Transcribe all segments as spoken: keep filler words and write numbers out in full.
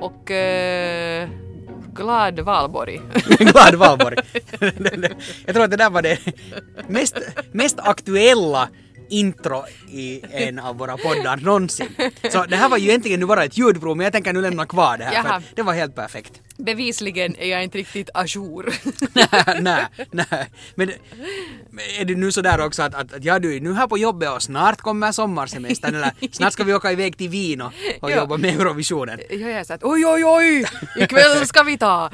och uh, glad Valborg. Glad Valborg. Jag tror att det där var det mest, mest aktuella intro i en av våra poddar någonsin. Så det här var ju egentligen nu bara ett ljudprov, men jag tänker nu lämna kvar det här för det var helt perfekt. Bevisligen är jag inte riktigt ajour. nej, nej, nej. Men är det nu så där också att, att, att ja, du är nu här på jobbet och snart kommer sommarsemestern eller snart ska vi åka iväg till Wien och, och jobba med Eurovisionen. Ja, jag sa att oj, oj, oj, ikväll ska vi ta.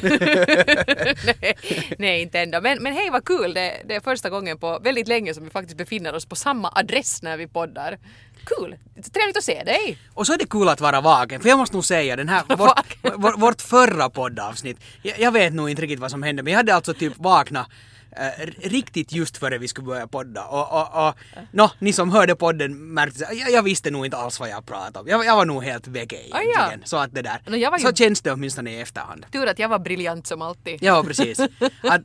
nej, nej, inte ändå. Men, men hej, vad kul. Det, det är första gången på väldigt länge som vi faktiskt befinner oss på samma adress när vi poddar. Kul. Trevligt att se dig. Och så är det kul att vara vaken. För jag måste nog säga, den här, vårt, vårt, vårt förra poddavsnitt, jag, jag vet nog inte riktigt vad som hände, men jag hade alltså typ vaknat äh, riktigt just före vi skulle börja podda. Och, och, och no, ni som hörde podden märkte, jag, jag visste nog inte alls vad jag pratade om. Jag, jag var nog helt väg egentligen. Ah, ja. Så att det där. No, ju... Så känns det åtminstone i efterhand. Tur att jag var briljant som alltid. Ja, precis. Att,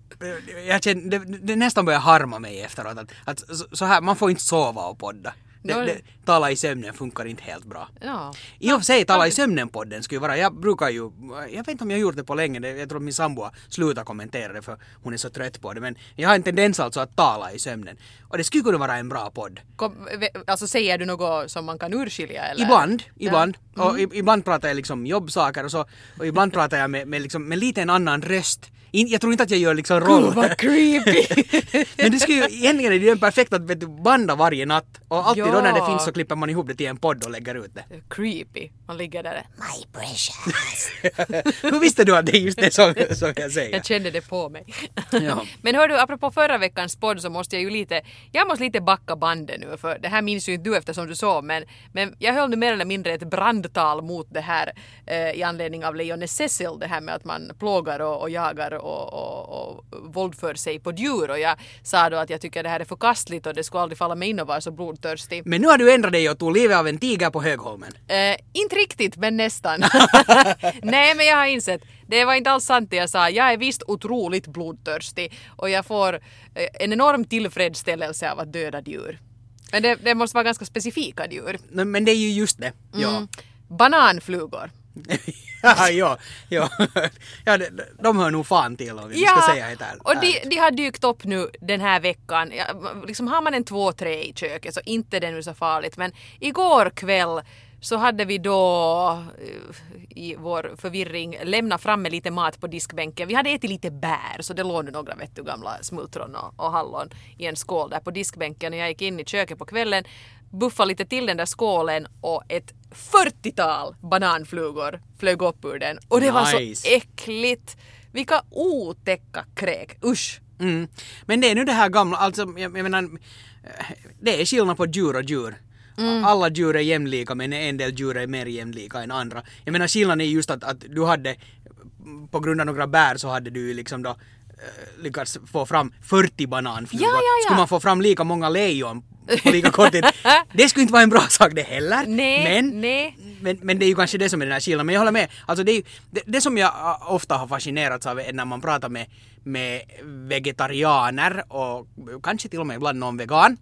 jag kände, det, det nästan började harma mig efteråt. Att, att så, så här, man får inte sova och podda. Det, det, tala i sömnen funkar inte helt bra. Ja. I och för sig, tala i sömnen-podden skulle vara, jag brukar ju, jag vet inte om jag har gjort det på länge, jag tror att min sambo slutar kommentera det för hon är så trött på det, men jag har en tendens alltså att tala i sömnen. Och det skulle kunna vara en bra podd. Kom, alltså säger du något som man kan urskilja eller? Ibland, ibland. Ja. Mm. Och ibland pratar jag liksom jobbsaker och så, och ibland pratar jag med, med, liksom, med lite en annan röst. Jag tror inte att jag gör liksom roll. Gud, vad creepy. Men det skulle ju egentligen är det ju perfekt att vet du, banda varje natt. Och alltid ja. Då när det finns så klipper man ihop det till en podd och lägger ut det. Creepy. Man ligger där. My precious. Hur visste du att det är just det som, som jag säger? Jag kände det på mig. Ja. Men hör du, apropå förra veckans podd så måste jag ju lite, jag måste lite backa bandet nu för det här minns ju inte du eftersom du såg men, men jag höll nu mer eller mindre ett brandtal mot det här eh, i anledning av Lejonet Cecil, det här med att man plågar och, och jagar och, och, och våldför sig på djur och jag sa då att jag tycker det här är förkastligt och det skulle aldrig falla mig in och vara så blodtörstig. Men nu har du ändrat dig och tog livet av en tiger på Högholmen. Eh, inte riktigt, men nästan. Nej, men jag har insett. Det var inte alls sant det jag sa. Jag är visst otroligt blodtörstig. Och jag får eh, en enorm tillfredsställelse av att döda djur. Men det, det måste vara ganska specifika djur. Men det är ju just det. Ja. Mm. Bananflugor. ja, ja, ja. ja de, de hör nog fan till om vi ja, ska säga det här. Och de, de har dykt upp nu den här veckan. Ja, liksom har man en två, tre i köket så inte det nu så farligt. Men igår kväll så hade vi då i vår förvirring lämnat fram med lite mat på diskbänken. Vi hade ätit lite bär så det låg nu några vet du, gamla smultron och, och hallon i en skål där på diskbänken. Och jag gick in i köket på kvällen, buffade lite till den där skålen och ett fyrtiotal bananflugor flög upp ur den. Och det nice. Var så äckligt. Vilka otäcka kräk. Usch. Mm. Men det är nu det här gamla, alltså jag, jag menar, det är skillnad på djur och djur. Mm. Alla djur är jämlika men en del djur är mer jämlika än andra. Jag menar skillnaden är just att, att du hade på grund av några bär så hade du liksom då äh, lyckats få fram fyrtio bananflugor. Ja, ja, ja. Skulle man få fram lika många lejon på lika kort tid. Det skulle inte vara en bra sak det heller. Nej, men, nej. Men, men det är ju kanske det som är den här skillnaden. Men jag håller med. Alltså det, är ju, det, det som jag ofta har fascinerats av är när man pratar med, med vegetarianer och kanske till och med ibland någon vegan.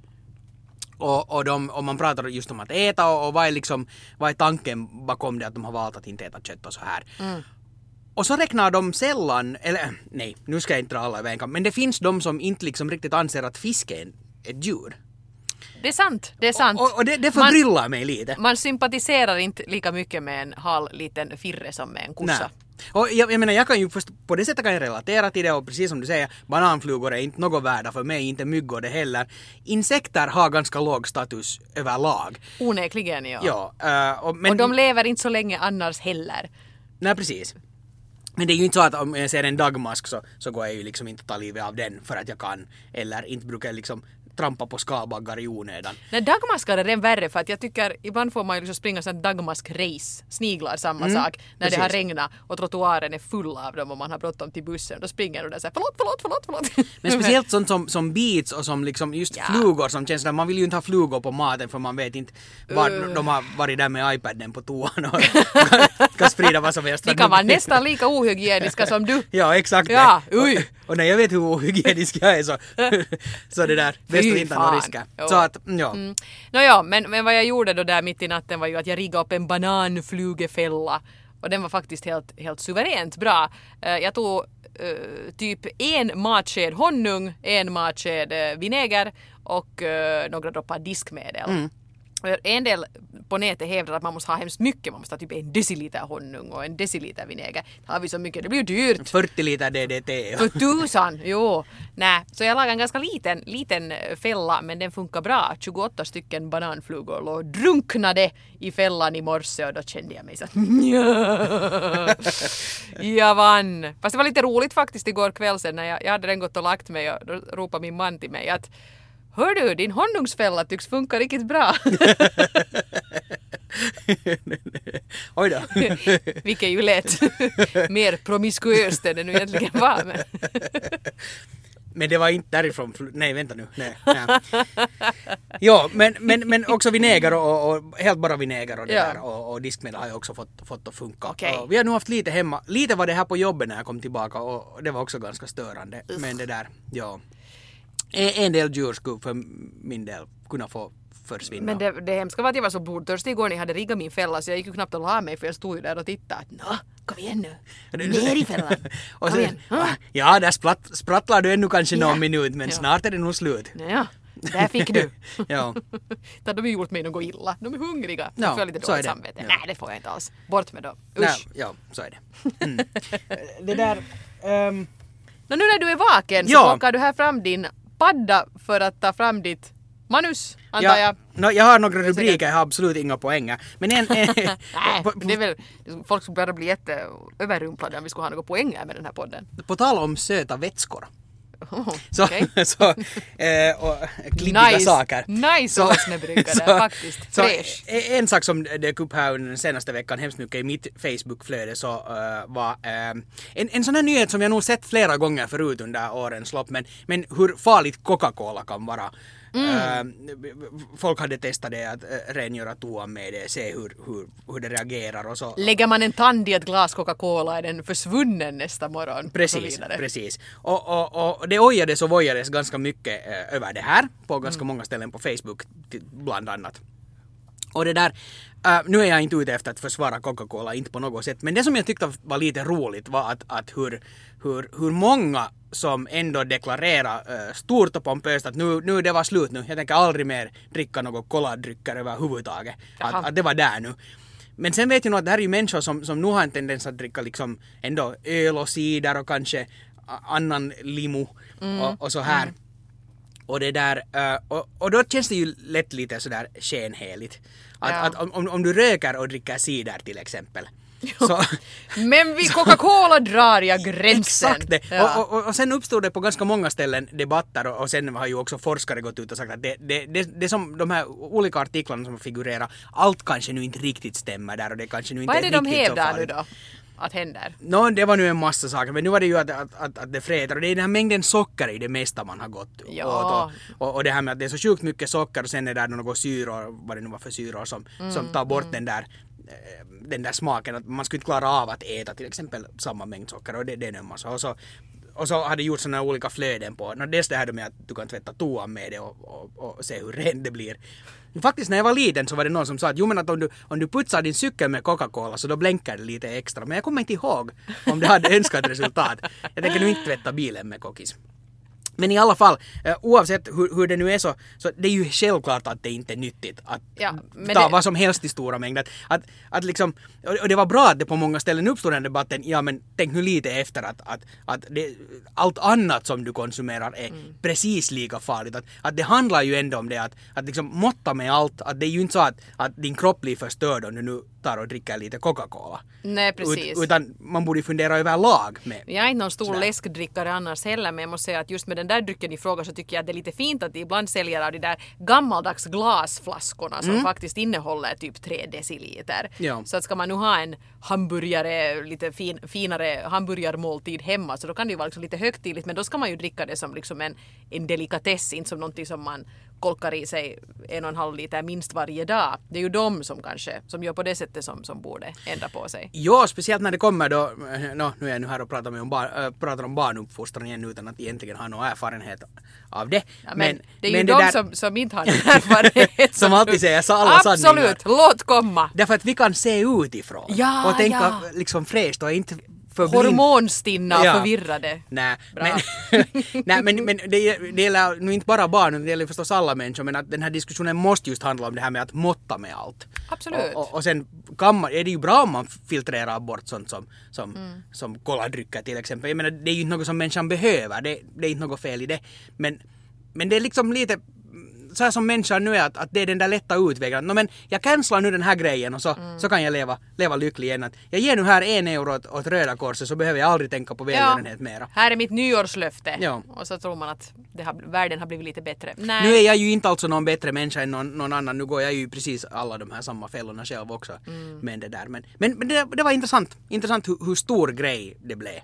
Och, och, de, och man pratar just om att äta och, och vad, är liksom, vad är tanken bakom det att de har valt att inte äta kött och så här. Mm. Och så räknar de sällan, eller nej, nu ska jag inte dra alla över en kam, men det finns de som inte liksom riktigt anser att fisk är ett djur. Det är sant, det är sant. Och, och det, det förbryllar man, mig lite. Man sympatiserar inte lika mycket med en hal liten firre som med en kossa. Nej. Och jag, jag menar, jag kan ju först, på det sättet kan jag relatera till det och precis som du säger, bananflugor är inte något värda för mig, inte myggor det heller. Insekter har ganska låg status överlag. Onekligen, ja. ja uh, och, men, och de lever inte så länge annars heller. Nej, precis. Men det är ju inte så att om jag ser en dagmask så, så går jag ju liksom inte ta livet av den för att jag kan. Eller inte brukar jag liksom trampa på skalbaggar i onödan. Nej, dagmaskar är den värre för att jag tycker ibland får man ju liksom springa sån dagmask-race. Sniglar samma mm, sak. När precis. Det har regnat och trottoaren är full av dem och man har bråttom till bussen. Då springer du där såhär förlåt, förlåt, förlåt, förlåt. Men speciellt sånt som, som beats och som liksom just ja. flugor som känns där. Man vill ju inte ha flugor på maten för man vet inte var uh. de har varit där med iPaden på toan och kan, kan sprida vad som helst. De kan vara nästan lika ohygieniska som du. Ja, exakt. Ja, och, och när jag vet hur ohygienisk jag är så, så det där bäst att inte ha några risker. Så att, ja. Mm. Nå ja, men, men vad jag gjorde då där mitt i natten var ju att jag riggade upp en bananflugefälla Och den var faktiskt helt, helt suveränt bra. Uh, jag tog uh, typ en matsked honung, en matsked uh, vinäger och uh, några droppar diskmedel. Mm. En del på nätet hävdar att man måste ha hemskt mycket. Man måste ha typ en deciliter honung och en deciliter vinäger. Har vi så mycket, det blir ju dyrt. fyrtio liter D D T. För tusan, jo. Nej, så jag lagade en ganska liten, liten fälla, men den funkar bra. tjugoåtta stycken bananflugor och drunknade i fällan i morse och då kände jag mig så att jag vann. Fast det var lite roligt faktiskt igår kväll sen när jag, jag hade den gått och lagt mig och då ropade min man till mig att hör du, din honungsfälla tycks funka riktigt bra. Oj då. Vilket ju lät mer promiskuöst än det nu egentligen var. Men, men det var inte därifrån. Nej, vänta nu. Nej, nej. Ja, men, men, men också vinäger och, och helt bara vinäger och det ja. där. Och, och diskmedel har jag också fått, fått att funka. Okay. Och vi har nu haft lite hemma. Lite var det här på jobbet när jag kom tillbaka och det var också ganska störande. Ugh. Men det där, ja. En del djur skulle för min del kunna få försvinna. Men det, det hemska var att jag var så blodtörstig igår när jag hade riggat min fälla så jag gick ju knappt att la mig för jag stod ju där och tittade att nå, kom igen nu, ner i fällan. Och sen, ja, där spratt, sprattlar du ännu kanske ja. någon minut men ja. Snart är det nog slut. Ja, där fick du. Ja. De har gjort mig något illa, de är hungriga. Ja, jag får lite dåligt samvete. Ja. Nej, det får jag inte alls. Bort med dem. Usch. Nej, ja, så är det. Mm. Det där... Um... Nå, nu när du är vaken så ja. plockar du här fram din padda för att ta fram ditt manus, antar ja, jag. No, jag har några rubriker, jag har absolut inga poänger. Men en... en Nej, det är väl... Folk skulle bara bli jätteöverrumplade om vi skulle ha några poänger med den här podden. På tal om söta vätskor. Oh, så, okay. så eh, och klibbiga nice, saker. Nice åsnebryggare, faktiskt. Så, fresh. En sak som dök upp här under den senaste veckan hemskt mycket i mitt Facebook-flöde så uh, var uh, en, en sån här nyhet som jag nog sett flera gånger förut under årens lopp, men, men hur farligt Coca-Cola kan vara. Mm. Uh, folk hade testat det att uh, rengöra toan med det, se hur, hur, hur det reagerar och så. Lägger man en tand i ett glas Coca-Cola är den försvunnen nästa morgon. Precis, precis. Och, och, och det ojades och vojades ganska mycket uh, över det här på ganska mm. många ställen på Facebook bland annat. Och det där, uh, nu är jag inte ute efter att försvara Coca-Cola, inte på något sätt, men det som jag tyckte var lite roligt var att, att hur, hur, hur många som ändå deklarerar uh, stort och pompöst att nu, nu det var slut nu, jag tänker aldrig mer dricka något koladrycker överhuvudtaget, att, att det var där nu. Men sen vet jag nog att det här är ju människor som, som nu har en tendens att dricka liksom ändå öl och cider och kanske annan limo mm. och, och så här. Mm. Och det där, uh, och, och då känns det ju lätt lite sådär skenheligt. Att, ja. att om, om du röker och dricker cider till exempel. Så, men vid Coca-Cola drar jag gränsen. Exakt det. Ja. Och, och, och sen uppstod det på ganska många ställen debatter och, och sen har ju också forskare gått ut och sagt att det, det, det, det som de här olika artiklarna som figurerar, allt kanske nu inte riktigt stämmer där och det kanske nu inte är är riktigt så farligt. Vad är det de hävdar nu då? Att händer? No, det var nu en massa saker, men nu var det ju att, att, att, att det fräter och det är den här mängden socker i det mesta man har gått ja. åt och, och, och det här med att det är så sjukt mycket socker och sen är det några syror, vad det nu var för syror som, mm, som tar bort mm. den där den där smaken, att man skulle inte klara av att äta till exempel samma mängd socker och det, det är en massa och så, och så hade gjort sådana olika flöden på, no, dels det här med att du kan tvätta toan med det och, och, och se hur rent det blir. Faktiskt när jag var liten så var det någon som sa att jo men att om du, om du putsar din cykel med Coca-Cola så då blänkar det lite extra. Men jag kommer inte ihåg om det hade önskat resultat. Jag tänker nu inte tvätta bilen med kokis. Men i alla fall, uh, oavsett hur, hur det nu är så, så det är ju självklart att det inte är nyttigt att ja, ta det... vad som helst i stora mängder. Att, att liksom, och det var bra att det på många ställen uppstod den debatten, ja men tänk nu lite efter att, att, att det, allt annat som du konsumerar är mm. precis lika farligt. Att, att det handlar ju ändå om det att, att liksom måtta med allt, att det är ju inte så att, att din kropp blir förstörd om du nu tar och dricker lite Coca-Cola. Nej, precis. Ut, utan man borde fundera överlag med. Jag är inte någon stor sådär. läskdrickare annars heller, men jag måste säga att just med den där drycken i fråga så tycker jag att det är lite fint att de ibland säljer av de där gammaldags glasflaskorna som mm. faktiskt innehåller typ tre deciliter. Ja. Så att ska man nu ha en hamburgare, lite fin, finare hamburgarmåltid hemma så då kan det ju vara liksom lite högtidligt, men då ska man ju dricka det som liksom en, en delikatess, inte som någonting som man kolkar i sig en och en halv liter minst varje dag. Det är ju de som kanske, som gör på det sättet som, som borde ändra på sig. Ja, speciellt när det kommer då, no, nu är jag nu här och pratar, med om, bar, äh, pratar om barnuppfostran igen utan att egentligen ha någon erfarenhet av det. Ja, men, men det är ju men de det där, som, som inte har någon erfarenhet. som alltid säger så alla Absolut, sanningar. låt komma. Därför att vi kan se utifrån Ja, och tänka ja. liksom fräscht och inte för blind. Hormonstinna och Ja. förvirrade. Nej, Bra. men, nej, men, men det, det gäller nu inte bara barn, det gäller förstås alla människor, men att den här diskussionen måste just handla om det här med att måtta med allt. Absolut. Och, och, och sen kan man, är det ju bra om man filtrerar bort sånt som, som, mm. som koladrycker till exempel. Jag menar, det är ju inte något som människan behöver, det, det är inte något fel i det. Men, men det är liksom lite så här som människan nu är, att, att det är den där lätta utvägen. No, men jag cancelar nu den här grejen och så, mm. så kan jag leva, leva lycklig igen. Att jag ger nu här en euro åt, åt Röda Korset så behöver jag aldrig tänka på välgörenhet ja. mera. Här är mitt nyårslöfte. Ja. Och så tror man att det har, världen har blivit lite bättre. Nej. Nu är jag ju inte alltså någon bättre människa än någon, någon annan. Nu går jag ju precis alla de här samma fällorna själv också. Mm. Men det där. Men, men, men det, det var intressant. Intressant hur, hur stor grej det blev.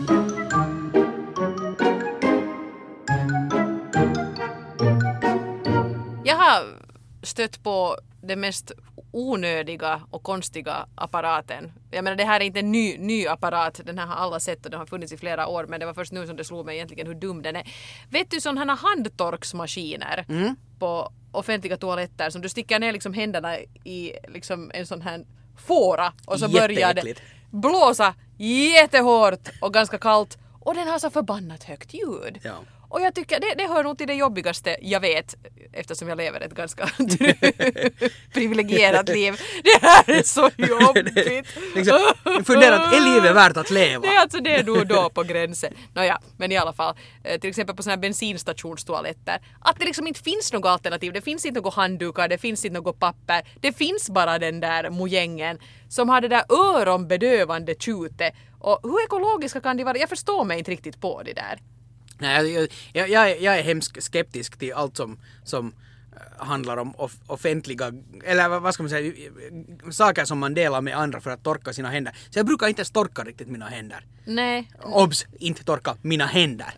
Jag har stött på den mest onödiga och konstiga apparaten. Jag menar, det här är inte en ny, ny apparat. Den här har alla sett och den har funnits i flera år. Men det var först nu som det slog mig egentligen hur dum den är. Vet du sådana här handtorksmaskiner mm. på offentliga toaletter som du sticker ner liksom händerna i liksom en sån här fåra och så börjar det blåsa jättehårt och ganska kallt. Och den har så förbannat högt ljud. Ja. Och jag tycker, det, det hör nog till det jobbigaste jag vet, eftersom jag lever ett ganska privilegierat liv. Det här är så jobbigt. liksom, fundera att är livet värt att leva? Det är alltså det då då på gränsen. Nåja, men i alla fall, till exempel på såna här bensinstationstoaletter, att det liksom inte finns något alternativ. Det finns inte något handdukar, det finns inte något papper. Det finns bara den där mojängen som har det där öronbedövande tjutet. Och hur ekologiska kan de vara? Jag förstår mig inte riktigt på det där. Nej, jag, jag, jag, jag är hemskt skeptisk till allt som, som handlar om off- offentliga, eller vad ska man säga, saker som man delar med andra för att torka sina händer. Så jag brukar inte ens torka riktigt mina händer. Nej. Obs, inte torka mina händer.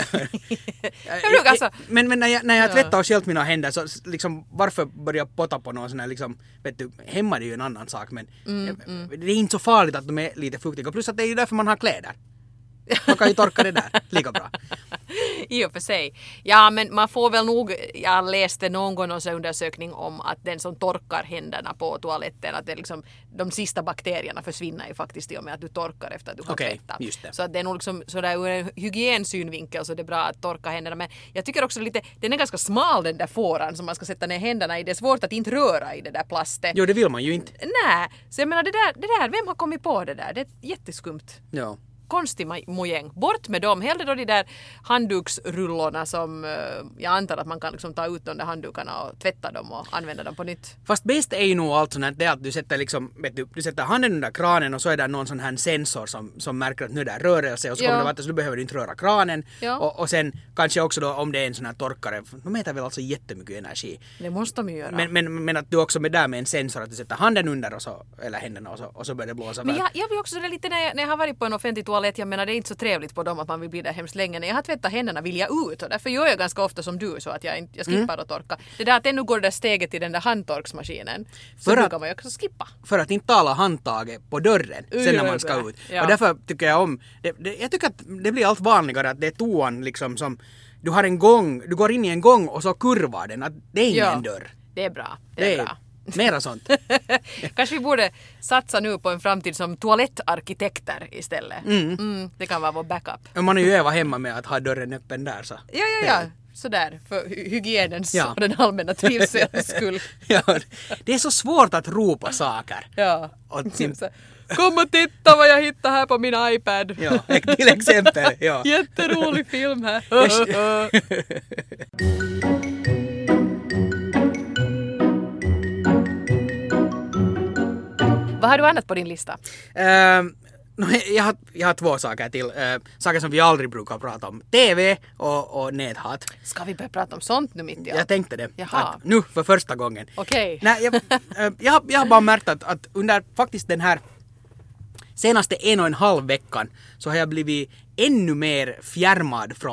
jag brukar alltså... Men, men när jag, när jag tvättar och sköljt mina händer så liksom, varför börja potta på någon sån här liksom, vet du, hemma är det ju en annan sak, men mm, mm. det är inte så farligt att de är lite fuktiga. Plus att det är ju därför man har kläder. Man kan ju torka det där lika bra. I och för sig. Ja, men man får väl nog, jag läste någon gång en undersökning om att den som torkar händerna på toaletten, att det liksom, de sista bakterierna försvinner ju faktiskt i och med att du torkar efter att du har okay, tvättat. Just det. Så att det är nog liksom sådär ur en hygiensynvinkel så det är bra att torka händerna. Men jag tycker också lite, den är ganska smal den där fåran som man ska sätta ner händerna i. Det är svårt att inte röra i det där plastet. Jo, det vill man ju inte. Nej, så jag menar det där, det där, vem har kommit på det där? Det är jätteskumt. Ja. Konstig mojäng. Bort med dem. Hellre då de där handduksrullorna som uh, jag antar att man kan liksom ta ut de där handdukarna och tvätta dem och använda dem på nytt. Fast bäst är ju nog allt sånt här, det att du sätter liksom, vet du, du sätter handen under kranen och så är det någon sån här sensor som, som märker att nu är det rörelse och så ja. kommer det vatten så du behöver inte röra kranen. Ja. Och, och sen kanske också då om det är en sån här torkare, de mäter väl alltså jättemycket energi. Det måste de ju göra. Men, men, men att du också med där med en sensor att du sätter handen under och så, eller händerna och så, och så börjar det blåsa. Men jag, jag vill också det lite när jag, när jag har varit på en offentlig toalett, jag menar det är inte så trevligt på dem att man vill bli där hemskt länge. När jag har tvättat händerna vill jag ut och därför gör jag ganska ofta som du så att jag, jag skippar mm. att torka. Det där att ännu går det där steget till den där handtorksmaskinen så för brukar att, man ju också skippa. För att inte tala handtaget på dörren sen Ujö, när man ska ut. ja. Och därför tycker jag om, det, det, jag tycker att det blir allt vanligare att det är toan liksom som, du har en gång, du går in i en gång och så kurvar den, att det är ingen ja, dörr. Det är bra, det är, det är bra. Mera sånt. Kanske vi borde satsa nu på en framtid som toalettarkitekter istället. Mm. Mm, det kan vara vår backup. Man är ju öva hemma med att ha dörren öppen där så. Ja, ja, ja. Sådär, för hygienens ja. Och den allmänna trivselns skull. Ja, det är så svårt att ropa saker. Ja. Sin... Kom och titta vad jag hittar här på min iPad. Ja, till exempel. Ja. Jätterolig film här. Vad har du annat på din lista? Uh, no, jag, har, jag har två saker till. Uh, saker som vi aldrig brukar prata om. T V och, och näthat. Ska vi börja prata om sånt nu mitt i allt? Jag tänkte det. Jaha. Nu för första gången. Okej. Okay. Jag, uh, jag, jag har bara märkt att, att under faktiskt den här senaste en och en halv veckan så har jag blivit ännu mer fjärmad från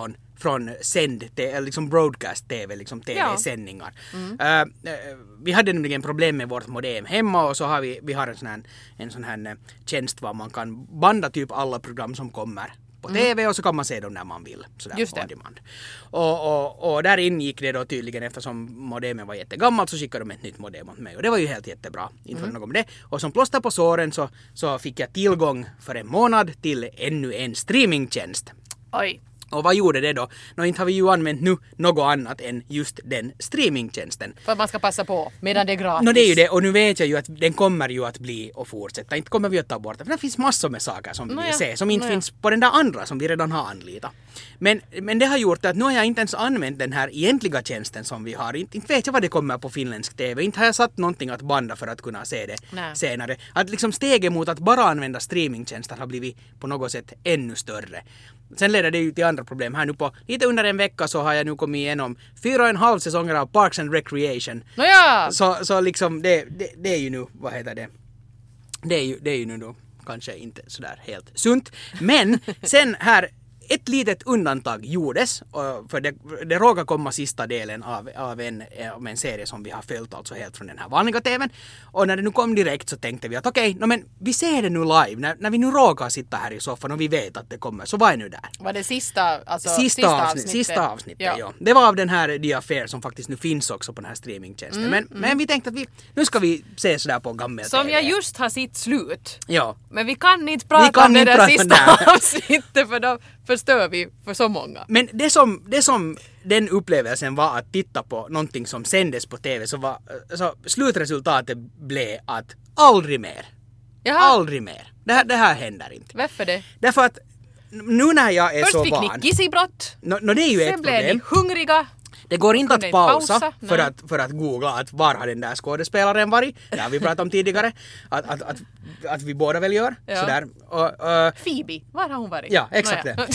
från sänd, liksom broadcast-tv, liksom tv-sändningar. Ja. Mm. Uh, vi hade nämligen problem med vårt modem hemma och så har vi, vi har en sån här, en sån här tjänst var man kan banda typ alla program som kommer på mm. tv och så kan man se dem när man vill. Sådär Just det. on demand. Och, och, och där ingick det då tydligen, eftersom modemen var jättegammalt så skickade de ett nytt modem åt mig. Och det var ju helt jättebra. Inte för mm. något med det. Och som plåster på såren så, så fick jag tillgång för en månad till ännu en streamingtjänst. Oj. Och vad gjorde det då? Nå, inte har vi ju använt nu något annat än just den streamingtjänsten. För att man ska passa på medan det är gratis. Nå, det är ju det. Och nu vet jag ju att den kommer ju att bli och fortsätta. Inte kommer vi att ta bort det. För det finns massor med saker som vi vill ja. se. Som inte Nå, ja. finns på den där andra som vi redan har anlitat. Men, men det har gjort att nu har jag inte ens använt den här egentliga tjänsten som vi har. Inte, inte vet jag vad det kommer på finländsk tv. Inte har jag satt någonting att banda för att kunna se det Nej. senare. Att liksom steget mot att bara använda streamingtjänster har blivit på något sätt ännu större. Sen leder det ju till andra problem. Här nu på lite under en vecka så har jag nu kommit igenom fyra och en halv säsonger av Parks and Recreation. Nåja! Så, så liksom det, det, det är ju nu, vad heter det? Det är ju, det är ju nu då kanske inte sådär helt sunt. Men sen här ett litet undantag gjordes, för det, det råkar komma sista delen av, av, en, av en serie som vi har följt alltså helt från den här vanliga tvn. Och när det nu kom direkt så tänkte vi att okej, okay, no, men vi ser det nu live. När, när vi nu råkar sitta här i soffan och vi vet att det kommer, så var jag nu där. Var det sista, alltså, sista, sista avsnitt, avsnittet? Sista avsnittet, ja. ja. Det var av den här The Affair som faktiskt nu finns också på den här streamingtjänsten. Mm, men, mm. men vi tänkte att vi, nu ska vi se sådär på gammel Som T V. jag just har sitt slut. Ja. Men vi kan inte prata kan om det inte där prata sista där. avsnittet för då förstör vi för så många. Men det som, det som den upplevelsen var att titta på någonting som sändes på tv så var så slutresultatet blev att aldrig mer. Jaha. Aldrig mer. Det här, det här händer inte. Varför det? Därför att nu när jag är Först så fick van... ni kissibrott. No, no, det är ju Sen ett blev problem. ni hungriga. Det går inte Kunde att inte pausa, pausa, för, nej. att, för att googla att var har den där skådespelaren varit. Det har vi pratat om tidigare. Att, att, att, att vi båda väl gör. Ja. Sådär. Och, uh, Phoebe, var har hon varit? ja, exakt Nåja.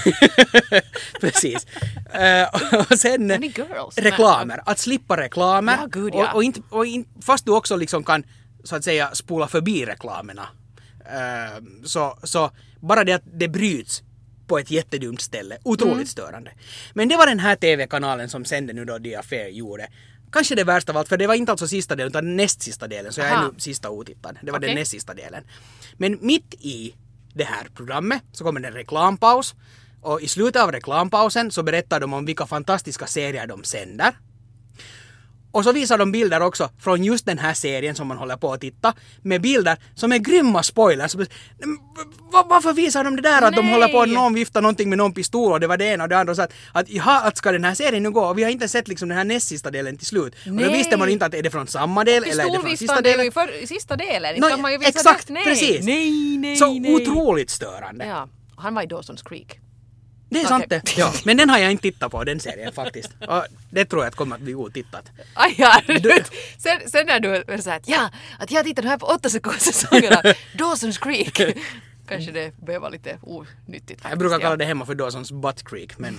det. Precis. Uh, och sen Är ni girls? reklamer. Att slippa reklamer. Ja, gud, ja. Och, och, inte, och in, fast du också liksom kan så att säga spola förbi reklamerna. Uh, så, så bara det att det bryts på ett jättedumt ställe. Otroligt mm. störande. Men det var den här tv-kanalen som sände nu då The Affair gjorde. Kanske det värsta av allt, för det var inte alltså sista delen utan näst sista delen. Så jag är Aha. nu sista otittad. Det var Okay. den näst sista delen. Men mitt i det här programmet så kommer det en reklampaus. Och i slutet av reklampausen så berättar de om vilka fantastiska serier de sänder. Och så visar de bilder också från just den här serien som man håller på att titta. Med bilder som är grymma spoilers. Varför visar de det där? Att de Nej. håller på att någon viftar någonting med någon pistol och det var det ena och det andra. Och så att, att, jaha, att ska den här serien nu gå? Och vi har inte sett liksom den här näst sista delen till slut. Och Nej. då visste man inte att är det från samma del eller är det från sista Pistolviftan är delen. ju för sista delen. No, Kan man ju visa exakt, det. Nej. precis. Nej, nej, Så nej. otroligt störande. Ja, han var i Dawson's Creek. Det är Okej. sant det. Ja, men den har jag inte tittat på, den serien faktiskt. Och det tror jag att kommer att bli otittat. Aj, ja. sen, sen när du är så här att ja, att jag tittar här på åtta sekunders säsonger av Dawson's Creek. Kanske det behöver vara lite onyttigt faktiskt. Jag brukar kalla ja. det hemma för Dawson's Butt Creek, men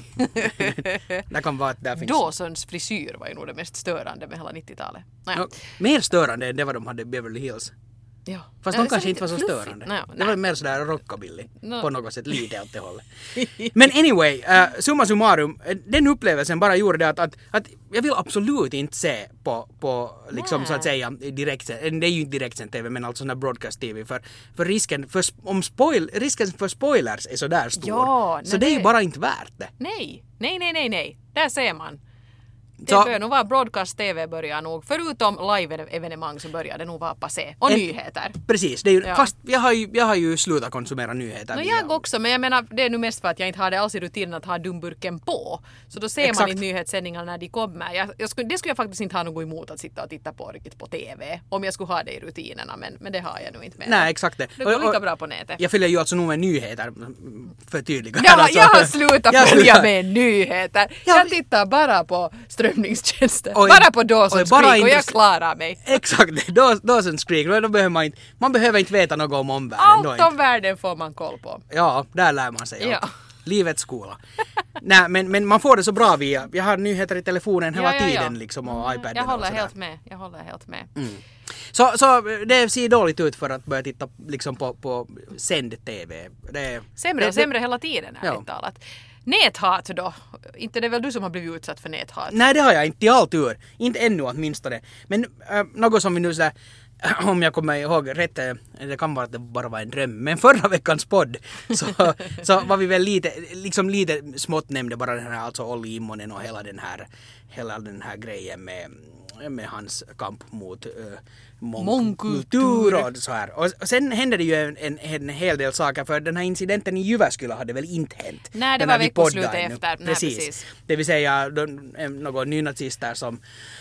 det kan vara att där finns... Dawsons frisyr var ju nog det mest störande med hela nittiotalet. Naja. No, mer störande än det vad de hade i Beverly Hills. Ja. Fast Ja, de det är kanske så inte var så lite fluffigt. störande. Nej, Det nej. var mer sådär rockabilly. No. På något sätt lite åt det hållet. Men anyway, uh, summa summarum, uh, den upplevelsen bara gjorde det att, att, att jag vill absolut inte se på, på liksom Nej. så att säga direkt, det är ju inte direktsänd tv men alltså sån här broadcast-tv för, för risken för, om spoil, risken för spoilers är så där stor. Ja, så nej, det är ju det- bara inte värt det. Nej, nej, nej, nej, nej. Där ser man. Det Så- bör nog vara broadcast-tv börjar nog. Förutom live-evenemang så börjar det nog vara passé. Och En- nyheter. Precis, det är ju, Ja. fast jag har ju, jag har ju slutat konsumera nyheter. No, via- jag också, men jag menar det är nu mest för att jag inte har det alls i rutinen att ha dumburken på. Så då ser Exakt. man inte nyhetssändningarna när de kommer. Jag, jag skulle, det skulle jag faktiskt inte ha något emot att sitta och titta på riktigt på tv. Om jag skulle ha det i rutinerna, men, men det har jag nog inte med. Nej, exakt det. Det går Och- och- lika bra på nätet. Jag följer ju alltså nog med nyheter för tydliga. Jag, alltså. jag har slutat Jag följa slutar- med nyheter. Ja, Jag tittar bara på strömningstjänster. Oj, bara på oj, Dawson's bara Creek och jag intress- klarar mig. Exakt, Daw- Dawson's Creek. Då behöver man, inte, man behöver inte veta något om omvärlden. då Allt inte. om världen får man koll på. Ja, där lär man sig. Ja. Ja. Livets skola. Nej, men, men man får det så bra via... Jag har nyheter i telefonen hela Ja, ja, ja. tiden liksom och iPaden Jag håller och sådär. helt med. Jag håller helt med. Mm. Så, så det ser dåligt ut för att börja titta liksom på, på sänd-tv. Det, Sämre det, och sämre hela tiden, ärligt Ja. talat. Näthat då? Inte det är väl du som har blivit utsatt för näthat? Nej, det har jag inte i all tur. Inte ännu åtminstone. Men äh, något som vi nu sådär, om jag kommer ihåg rätt, det kan vara att det bara var en dröm. Men förra veckans podd så, så var vi väl lite, liksom lite smått nämnde bara den här, alltså Olli Immonen och hela den här, hela den här grejen med, med hans kamp mot uh, mångkultur och så här. Och sen hände det ju en, en, en hel del saker, för den här incidenten i Jyväskylä hade väl inte hänt. Nej, det var veckoslutet efter. Nej, precis. precis. Det vill säga några nynazister som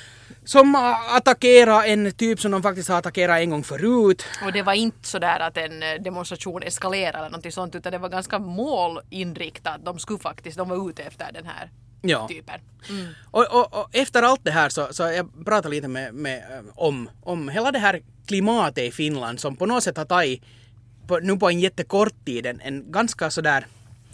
Som attackerar en typ som de faktiskt har attackerat en gång förut. Och det var inte så där att en demonstration eskalerade eller något sånt, utan det var ganska målinriktat. De skulle faktiskt, de var ute efter den här ja. typen. Mm. Och, och, och efter allt det här så, så jag pratade lite med, med, om, om hela det här klimatet i Finland som på något sätt har tagit på, nu på en jättekort tid en, en ganska sådär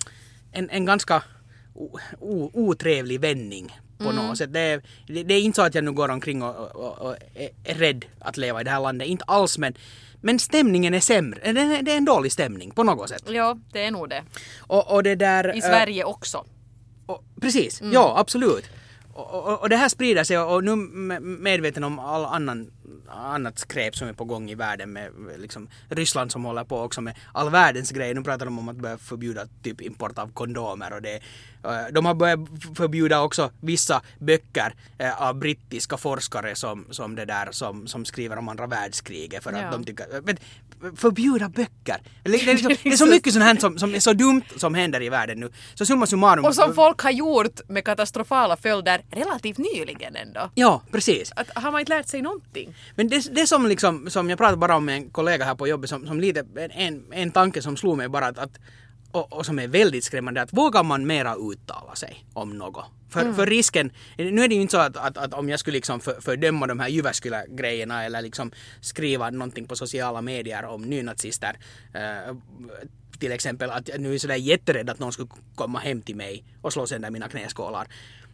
en, en ganska o, o, otrevlig vändning. På mm. något sätt. Det är, det, det är inte så att jag nu går omkring och, och, och är rädd att leva i det här landet. Inte alls, men, men stämningen är sämre. Det är, det är en dålig stämning på något sätt. Ja, det är nog det. Och, och det där, I Sverige äh, också. Och, precis, mm. ja absolut. Och, och, och det här sprider sig, och nu medveten om all annan annat skräp som är på gång i världen med liksom Ryssland som håller på också med all världens grejer. Nu pratar de om att börja förbjuda typ import av kondomer, och det, de har börjat förbjuda också vissa böcker av brittiska forskare som, som det där som, som skriver om andra världskriget för att ja. de tycker men, förbjuda böcker. Det är, liksom, det är så mycket sånt här som, som är så dumt som händer i världen nu. Så summa summarum. Och som folk har gjort med katastrofala följder relativt nyligen ändå. Ja, precis. Att, har man inte lärt sig någonting? Men det, det som, liksom, som jag pratade bara om med en kollega här på jobbet, som, som lite, en, en tanke som slog mig bara att, att och, och som är väldigt skrämmande, att vågar man mera uttala sig om något? För, mm. för risken, nu är det ju inte så att, att, att om jag skulle liksom för, fördöma de här Jyväskylä-grejerna eller liksom skriva någonting på sociala medier om nynazister, eh, till exempel att jag nu är sådär jätterädd att någon skulle komma hem till mig och slå sönder mina knäskålar.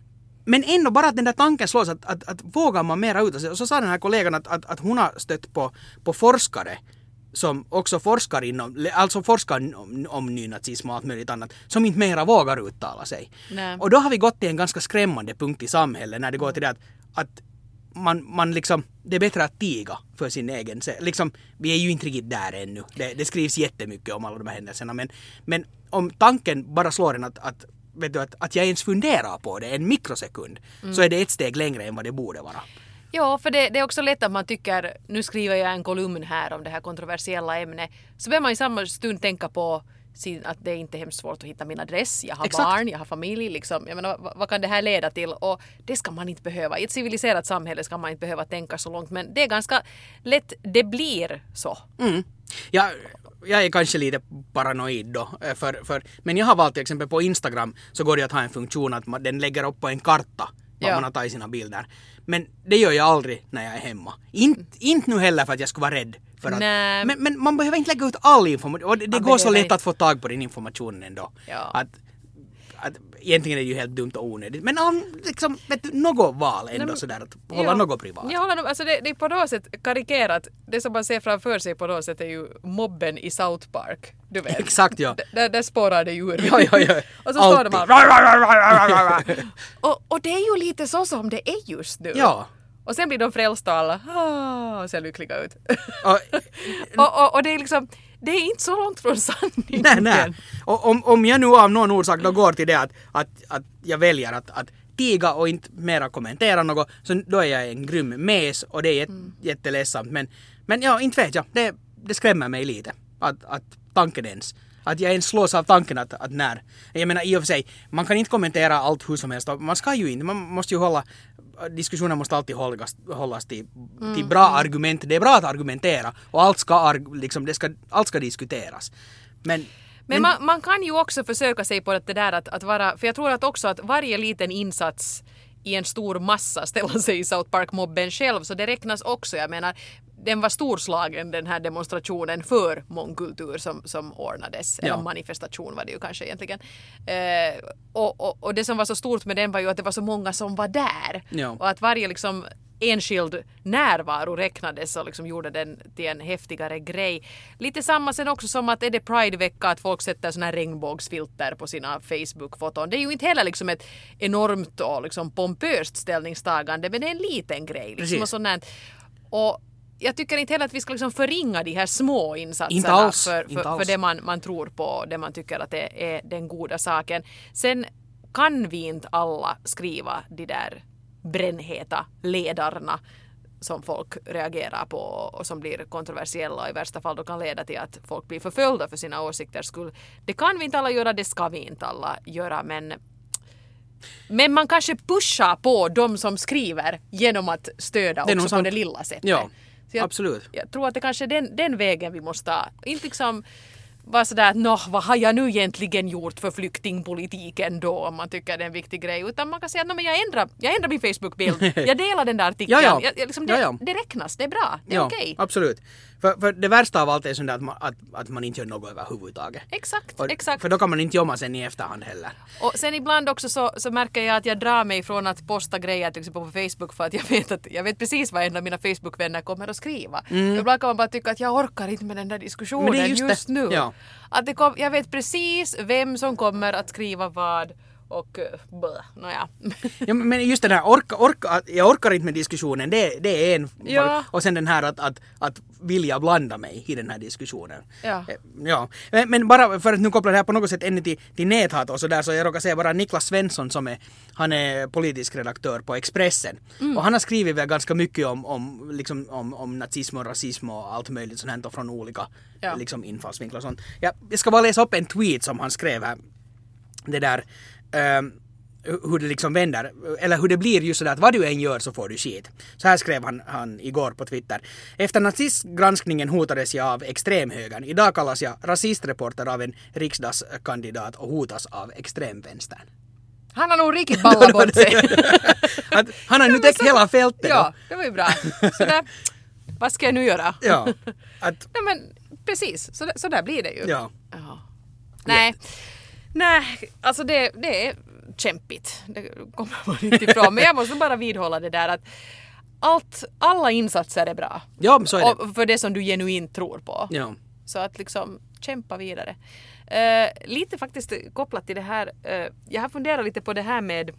Men ändå bara att den där tanken slås att, att, att vågar man mera ut. Och så sa den här kollegan att, att, att hon har stött på, på forskare som också forskar inom, alltså forskar om, om nynazism och allt möjligt annat, som inte mera vågar uttala sig. Nej. Och då har vi gått till en ganska skrämmande punkt i samhället när det går till det att, att man, man liksom, det är bättre att tiga för sin egen, liksom, vi är ju inte riktigt där ännu. Det, det skrivs jättemycket om alla de här händelserna, men, men om tanken bara slår en att, att vet du, att, att jag ens funderar på det en mikrosekund, mm. så är det ett steg längre än vad det borde vara. Ja, för det, det är också lätt att man tycker, nu skriver jag en kolumn här om det här kontroversiella ämnet, så behöver man i samma stund tänka på sin, att det är inte hemskt svårt att hitta min adress, jag har Exakt. barn, jag har familj, liksom. Jag menar, vad, vad kan det här leda till? Och det ska man inte behöva. I ett civiliserat samhälle ska man inte behöva tänka så långt, men det är ganska lätt, det blir så. Mm. Ja, jag är kanske lite paranoid då, för, för, men jag har valt till exempel på Instagram så går det att ha en funktion att man, den lägger upp på en karta vad ja. man har tagit sina bilder. Men det gör jag aldrig när jag är hemma. Inte inte nu heller för att jag skulle vara rädd. För att, men, men man behöver inte lägga ut all information. Och det, det går så lätt att få tag på din information ändå. Ja. Att, att, egentligen är det ju helt dumt och onödigt. Men om liksom, vet du, något val ändå Nej, sådär att hålla ja. något privat. Jag håller, alltså det, det är på något sätt karikerat. Det som man ser framför sig på något sätt är ju mobben i South Park. Du vet. Exakt, ja. D- där spårar det djur. Ja, ja, ja. Och så står det bara... och, och det är ju lite så som det är just nu. Ja. Och sen blir de frälsta och alla ah, och ser lyckliga ut. och, och, och, och det är liksom... Det är inte så långt från sanningen. Nej, nej. Och om, om jag nu av någon orsak då går till det att, att, att jag väljer att, att tiga och inte mera kommentera något, så då är jag en grym mes och det är jät, mm. jätteledsamt. Men, men ja, inte vet jag. Det, det skrämmer mig lite. Att, att tanken ens. Att jag ens slås av tanken att, att när. Jag menar i och för sig, man kan inte kommentera allt hur som helst. Man ska ju inte, man måste ju hålla, diskussionen måste alltid hållas, hållas till, mm. till bra argument. Det är bra att argumentera och allt ska, liksom, det ska, allt ska diskuteras. Men, men, men man, man kan ju också försöka sig på det där att, att vara, för jag tror att också att varje liten insats i en stor massa ställer sig i South Park-mobben själv, så det räknas också. Jag menar, den var storslagen, den här demonstrationen för mångkultur som, som ordnades. Ja. Eller manifestation var det ju kanske egentligen. Eh, och, och, och det som var så stort med den var ju att det var så många som var där. Ja. Och att varje liksom enskild närvaro räknades och liksom gjorde den till en häftigare grej. Lite samma sen också som att är det Pride-vecka att folk sätter såna här regnbågsfilter på sina Facebook-foton. Det är ju inte heller liksom ett enormt och liksom pompöst ställningstagande, men det är en liten grej. Liksom, och, sånt och jag tycker inte heller att vi ska liksom förringa de här små insatserna för, för, för det man, man tror på, det man tycker att det är den goda saken. Sen kan vi inte alla skriva de där brännheta ledarna som folk reagerar på och som blir kontroversiella och i värsta fall då kan leda till att folk blir förföljda för sina åsikters skull. Det kan vi inte alla göra, det ska vi inte alla göra, men men man kanske pushar på de som skriver genom att stödja också på sant. Det lilla sättet. Ja, jag, absolut. Jag tror att det kanske är den, den vägen vi måste ha. Inte liksom bara sådär att nå, vad har jag nu egentligen gjort för flyktingpolitiken då, om man tycker det är en viktig grej, utan man kan säga att men jag ändrar, jag ändrar min Facebook-bild, jag delar den där artikeln, ja, ja. Jag, jag, liksom, det, ja, ja. det räknas, det är bra, det är ja, okej. Okay. Absolut. För, för det värsta av allt är sånt att man, att, att man inte gör något överhuvudtaget. Exakt, och, exakt. För då kan man inte jobba sen i efterhand heller. Och sen ibland också så, så märker jag att jag drar mig från att posta grejer till exempel på Facebook för att jag vet, att, jag vet precis vad en av mina Facebook-vänner kommer att skriva. Mm. Ibland kan man bara tycka att jag orkar inte med den där diskussionen men det är just, just det. nu. Ja. Att det kom, jag vet precis vem som kommer att skriva vad och blah, nåja. Ja, men just det där, orka, orka, jag orkar inte med diskussionen, det, det är en ja. Och sen den här att, att, att vilja blanda mig i den här diskussionen. Ja. Ja. Men, men bara för att nu koppla det här på något sätt ännu till, till näthat och så där, så jag råkar säga bara Niklas Svensson som är, han är politisk redaktör på Expressen. Mm. Och han har skrivit väl ganska mycket om, om, liksom, om, om nazism och rasism och allt möjligt sånt här från olika ja. liksom, infallsvinklar och sånt. Ja, jag ska bara läsa upp en tweet som han skrev här. Det där Um, hur det liksom vänder, eller hur det blir just sådär att vad du än gör så får du skit. Så här skrev han, han igår på Twitter. Efter nazistgranskningen hotades jag av extremhögern. Idag kallas jag rasistreporter av en riksdagskandidat och hotas av extremvänstern. Han har nog riktigt ballat bort sig. Att, han har nu täckt hela fältet. Ja, det var ju bra. Så där, vad ska jag nu göra? Ja, att, ja men precis, så, så där blir det ju. Ja. Ja. Nej. Ja. Nej, alltså det, det är kämpigt. Det kommer man inte ifrån. Men jag måste bara vidhålla det där att allt, alla insatser är bra. Ja, så är det. Och för det som du genuint tror på. Ja. Så att liksom kämpa vidare. Uh, lite faktiskt kopplat till det här. Uh, jag har funderat lite på det här med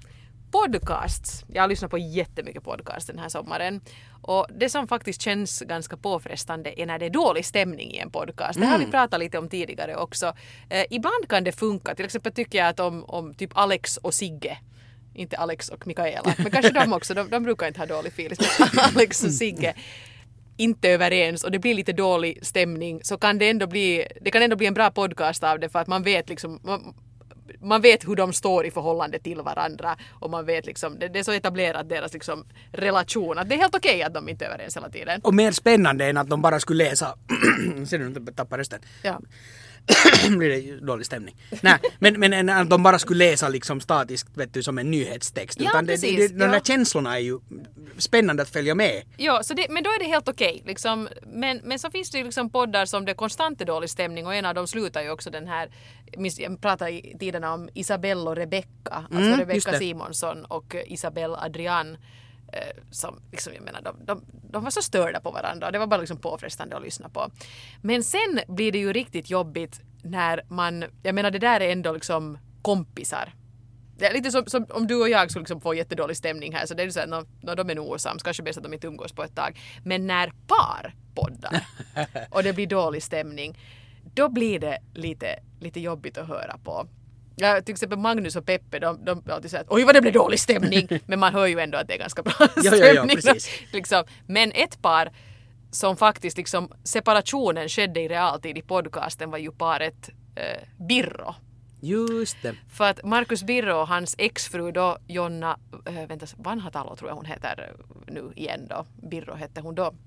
podcasts. Jag har lyssnat på jättemycket podcast den här sommaren. Och det som faktiskt känns ganska påfrestande är när det är dålig stämning i en podcast. Det har vi pratat lite om tidigare också. Eh, ibland kan det funka. Till exempel tycker jag att om, om typ Alex och Sigge, inte Alex och Mikaela, men kanske de också, de, de brukar inte ha dålig feeling. Alex och Sigge inte överens och det blir lite dålig stämning, så kan det ändå bli, det kan ändå bli en bra podcast av det, för att man vet liksom... Man, man vet hur de står i förhållande till varandra och man vet liksom, det, det är så etablerat deras liksom relation att det är helt okej att de inte är överens hela tiden. Och mer spännande än att de bara skulle läsa ser du inte tappar rösten. Ja. Blir det dålig stämning. Nej, men, men att de bara skulle läsa liksom statiskt, vet du, som en nyhetstext. Ja, utan precis, det, det, de ja. där känslorna är ju spännande att följa med. Ja, så det, men då är det helt okej. Liksom. Men, men så finns det ju liksom poddar som det är konstant dålig stämning och en av dem slutar ju också den här, jag pratar i tiderna om Isabelle och Rebecca, alltså Mm, Rebecca Simonsson och Isabelle Adrian. Som, liksom, jag menar, de, de, de var så störda på varandra och det var bara liksom påfrestande att lyssna på. Men sen blir det ju riktigt jobbigt när man, jag menar det där är ändå liksom kompisar. Det är lite som, som om du och jag skulle liksom få jättedålig stämning här, så det är så att när, när de är nog osams, kanske bäst att de inte umgås på ett tag. Men när par poddar och det blir dålig stämning, då blir det lite, lite jobbigt att höra på. Ja, till exempel Magnus och Peppe, de, de alltid säger att oj vad det blev dålig stämning, men man hör ju ändå att det är ganska bra stämning. Ja, ja, ja, precis. Liksom. Men ett par som faktiskt liksom, separationen skedde i realtid i podcasten var ju paret eh, Birro. Just det. För att Marcus Birro och hans exfru då, Jonna, äh, vänta, Vanhatalo tror jag hon heter nu igen då, Birro hette hon då.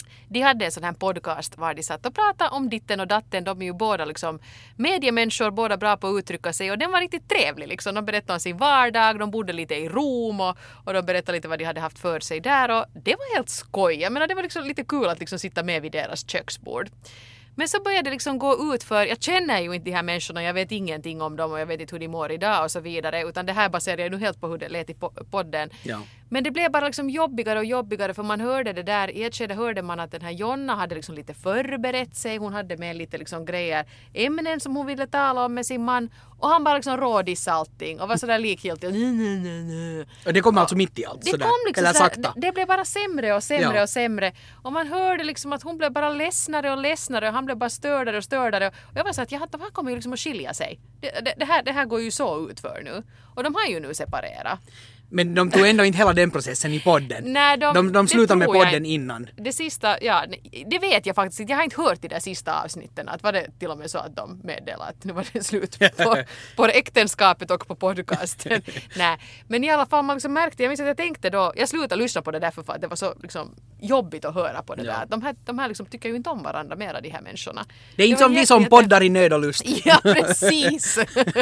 De hade en sån här podcast var de satt och pratade om ditten och datten. De är ju båda liksom mediemänniskor, båda bra på att uttrycka sig. Och den var riktigt trevlig liksom. De berättade om sin vardag, de bodde lite i Rom och, och de berättade lite vad de hade haft för sig där. Och det var helt skoj. Jag menar, det var liksom lite kul att liksom sitta med vid deras köksbord. Men så började det liksom gå ut för, jag känner ju inte de här människorna, jag vet ingenting om dem och jag vet inte hur de mår idag och så vidare. Utan det här baserar jag nu helt på hur det lät i podden. Ja. Men det blev bara liksom jobbigare och jobbigare för man hörde det där, i ett skede hörde man att den här Jonna hade liksom lite förberett sig, hon hade med lite liksom grejer, ämnen som hon ville tala om med sin man och han bara liksom rådissade allting och var sådär likgiltig. Och det kom alltså mitt i allt det sådär, kom liksom eller sådär, sakta. det, det blev bara sämre och sämre Ja. och sämre och man hörde liksom att hon blev bara ledsnare och ledsnare och han blev bara stördare och stördare och jag var så att ja, de här kommer ju liksom att skilja sig. Det, det, det, här, det här går ju så ut för nu och de har ju nu separerat. Men de tog ändå inte hela den processen i podden. Nej, de, de, de det slutade med tror jag podden inte. innan. Det sista, ja, det vet jag faktiskt inte. Jag har inte hört i de sista avsnitten att var det till och med så att de meddelade att nu var det slut på, på äktenskapet och på podcasten. Nej, men i alla fall man liksom märkte, jag minns att jag tänkte då, jag slutade lyssna på det därför för att det var så liksom jobbigt att höra på det Ja. där. De här, de här liksom tycker ju inte om varandra mera, de här människorna. Det är inte var som vi jätte- som jätte- poddar i nöd och lust. Ja, precis.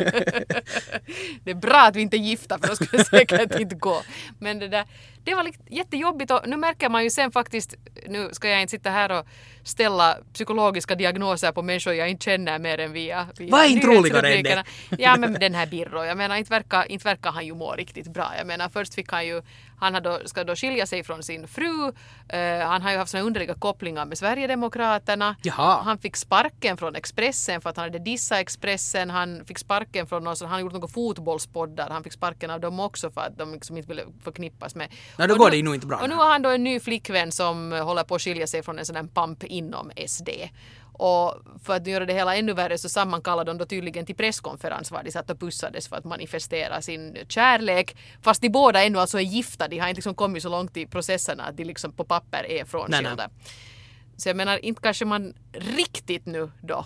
Det är bra att vi inte är gifta för då skulle det säkert inte gå. Men det där, det var liksom jättejobbigt och nu märker man ju sen faktiskt, nu ska jag inte sitta här och ställa psykologiska diagnoser på människor jag inte känner mer än via, via Vad är inte roligare än nyhetsrubrikerna. Ja, men den här Birro, jag menar inte verkar, inte verkar han ju må riktigt bra. Jag menar först fick han ju, han har då, ska då skilja sig från sin fru, uh, han har ju haft såna underliga kopplingar med Sverigedemokraterna. Jaha. Han fick sparken från Expressen för att han hade dissat Expressen. Han fick sparken från någon, så han har gjort några fotbollspoddar. Han fick sparken av dem också för att de liksom inte ville förknippas med. Nej, då Och går nu- det ju nog inte bra. Och nu nej. har han då en ny flickvän som håller på att skilja sig från en sån här pamp inom S D. Och för att göra det hela ännu värre så sammankallade de då tydligen till presskonferens var de satt och pussades för att manifestera sin kärlek. Fast de båda ännu alltså är gifta. De har inte liksom kommit så långt i processerna att de liksom på papper är frånskilda. Nej, Så jag menar, inte kanske man riktigt nu då.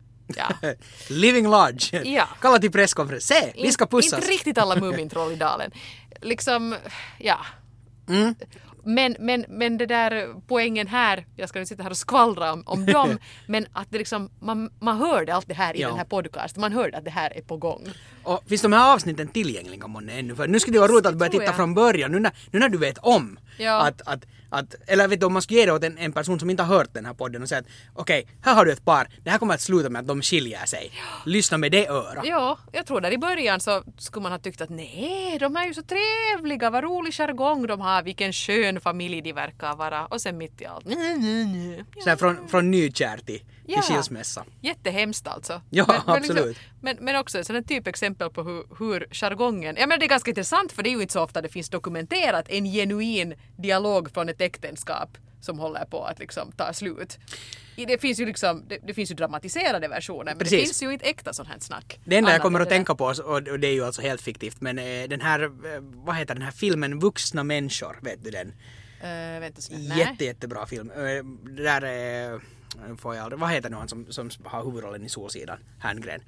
Ja. Living large. Ja. Kalla till presskonferens. Se, vi ska In- pussas. Inte riktigt alla Mumintroll i dalen. Liksom, ja. Mm. Men, men, men det där poängen här, jag ska inte sitta här och skvallra om, om dem, men att det liksom, man, man hörde allt det här i Ja. den här podcasten. Man hörde att det här är på gång. Och finns de här avsnitten tillgängliga månne ännu? För nu skulle det vara roligt att börja tror titta jag. från början, nu när, nu när du vet om. Ja. Att, att, att, eller vet du, om man skulle ge det åt en, en person som inte har hört den här podden och säga att okej, här har du ett par, det här kommer att sluta med att de skiljer sig. Lyssna med det öra. Ja, jag tror där i början så skulle man ha tyckt att nej, de är ju så trevliga, vad rolig jargong de har, vilken skön familj de verkar vara. Och sen mitt i allt. Nej, nej, nej. Så här från, från nykär till, Ja. till skilsmässa. Jättehemskt alltså. Ja, men, men, absolut. men, men också ett sådant typexempel på hur, hur jargongen... Ja, men det är ganska intressant för det är ju inte så ofta det finns dokumenterat en genuin dialog från ett äktenskap som håller på att liksom ta slut. I- Det finns ju liksom, det, det finns ju dramatiserade versioner men Precis. det finns ju inte äkta sånt här snack. Det enda jag Annat kommer än att det där. tänka på, och och det är ju alltså helt fiktivt, men eh, den här, eh, vad heter den här filmen Vuxna människor, vet du den? Uh, vänta så. Nej. Jätte, jättebra film. Eh, Det där är, får jag aldrig, vad heter nu han som, som har huvudrollen i Solsidan? Herngren.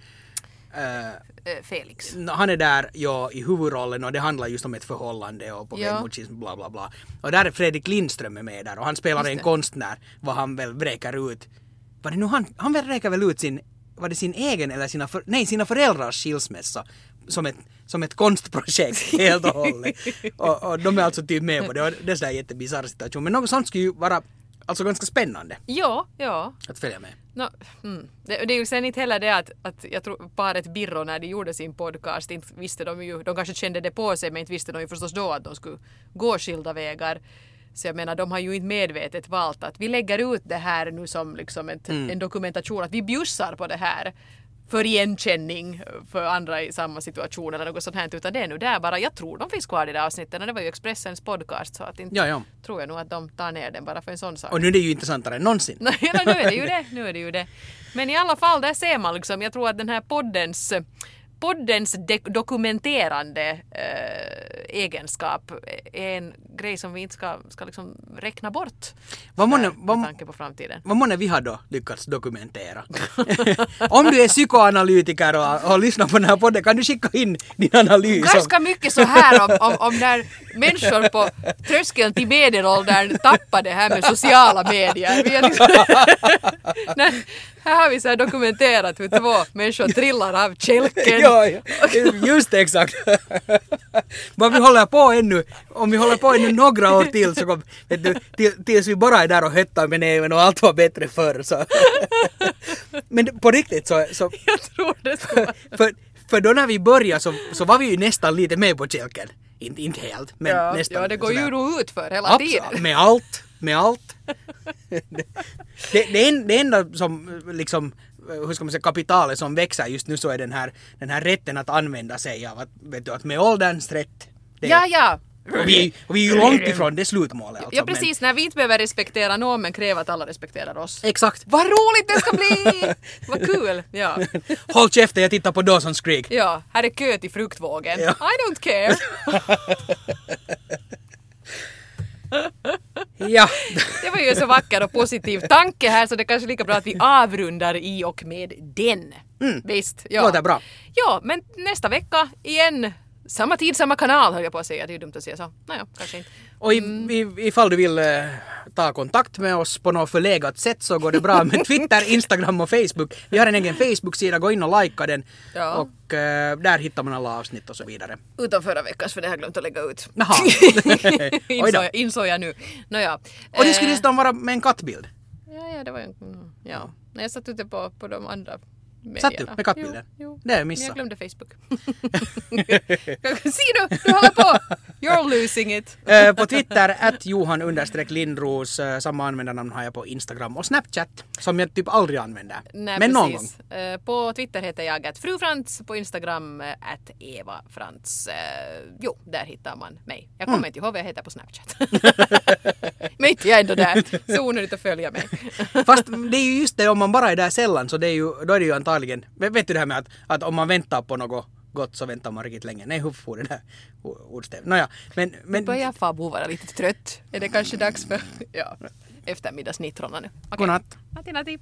Eh, Eh, Felix. No, han är där ja, i huvudrollen och det handlar just om ett förhållande och på väg Ja. mot schism, bla bla bla. Och där är Fredrik Lindström är med där och han spelar Just en det. konstnär vad han väl vräker ut. Var det nu han, han vräker väl ut sin, var det sin egen eller sina, för, nej sina föräldrars skilsmässa som ett, som ett konstprojekt helt och hållet. och, och de är alltså typ med på det och det är sådär jättebisarr situation. Men något sånt skulle ju vara alltså ganska spännande Ja, ja. att följa med. No, mm. det, det är ju sen inte heller det att, att jag tror paret Birro när de gjorde sin podcast inte visste de ju, de kanske kände det på sig men inte visste de ju förstås då att de skulle gå skilda vägar. Så jag menar de har ju inte medvetet valt att vi lägger ut det här nu som liksom ett, Mm. en dokumentation att vi bjussar på det här för igenkänning för andra i samma situation eller något sånt här utan det är nu där bara, jag tror de finns kvar i det avsnitten och det var ju Expressens podcast så att inte Ja, ja. tror jag nog att de tar ner den bara för en sån sak. Och nu är det ju intressantare än någonsin. Nej, ja, nu är det ju det. Nu är det ju det. Men i alla fall, där ser man liksom, jag tror att den här poddens, poddens de- dokumenterande eh, egenskap är en grej som vi inte ska, ska liksom räkna bort. Vad månne, Med vad, tanke på framtiden. vad månne vi har då lyckats dokumentera? Om du är psykoanalytiker och har lyssnat på den här podden kan du skicka in din analys. Ganska mycket så här om, om, om när människor på tröskeln till medelåldern tappar det här med sociala medier. Vi är liksom, när, här har vi så här dokumenterat hur två människor trillar av kälken. Ja, ja, just exakt. Men vi håller på ännu, om vi håller på ännu några år till så kom, vet du, till, tills vi bara är där och höttar med näven och allt var bättre förr. Så. Men på riktigt så... så Jag tror det ska vara. För, för då när vi började så, så var vi ju nästan lite med på kälken. Inte, inte helt, men Ja, nästan. ja, det går ju sådär. nog ut för hela Absolut, tiden. med allt, med allt. det, det, en, det enda som liksom, hur ska man säga, kapitalet som växer just nu så är den här, den här rätten att använda sig av att, vet du, att med ålderns rätt. Det, Ja, ja. Och vi, och vi är ju långt ifrån det slutmålet. Alltså, Ja, precis. När vi inte behöver respektera någon men kräver att alla respekterar oss. Men, exakt. Vad roligt det ska bli! Vad kul! Ja. Håll käften, jag tittar på Dawson's Creek. Ja, här är kö till fruktvågen. Ja. I don't care. Ja. Det var ju en så vacker och positiv tanke här så det är kanske lika bra att vi avrundar i och med den. Mm. Visst? Ja. Låter bra. Ja, men nästa vecka igen. Samma tid, samma kanal höll jag på att säga. Det är ju dumt att säga så. Naja, kanske inte. Och i, i, ifall du vill eh, ta kontakt med oss på något förlegat sätt så går det bra med Twitter, Instagram och Facebook. Vi har en egen Facebook-sida, gå in och likea den. Ja. Och eh, där hittar man alla avsnitt och så vidare. Utan förra veckans för det har jag glömt att lägga ut. Jaha. Oj insåg, då. jag, insåg jag nu. Nåja. Och det skulle Eh, nästan vara med en kattbild. Ja, ja, det var ju... mm, Ja. Nej, jag satt ute på, på de andra medierna. Satt du med kattbilden? Jo, jo. Det har jag Men missat. jag glömde Facebook. Se du, du håller på! You're losing it. Eh, på Twitter, at Johan understreck Lindros. Eh, samma användarnamn har jag på Instagram och Snapchat, som jag typ aldrig använder. Nej, Men någon gång. precis. Eh, På Twitter heter jag att frufrans, på Instagram eh, att Eva Frans. Eh, Jo, där hittar man mig. Jag kommer Mm. inte ihåg vad jag heter på Snapchat. Men inte jag är ändå där. Så onödigt att följa mig. Fast det är ju just det, om man bara är där sällan så det är ju, då är det ju antagligen, vet vet du det här med att, att om man väntar på något gott så väntar man riktigt länge. Nej, hur får det där ordstäv? Nåja, men... men Börjar farbo vara lite trött. Är det kanske dags för ja, eftermiddagsnittrorna nu? Okej. Godnatt. Natti, natti.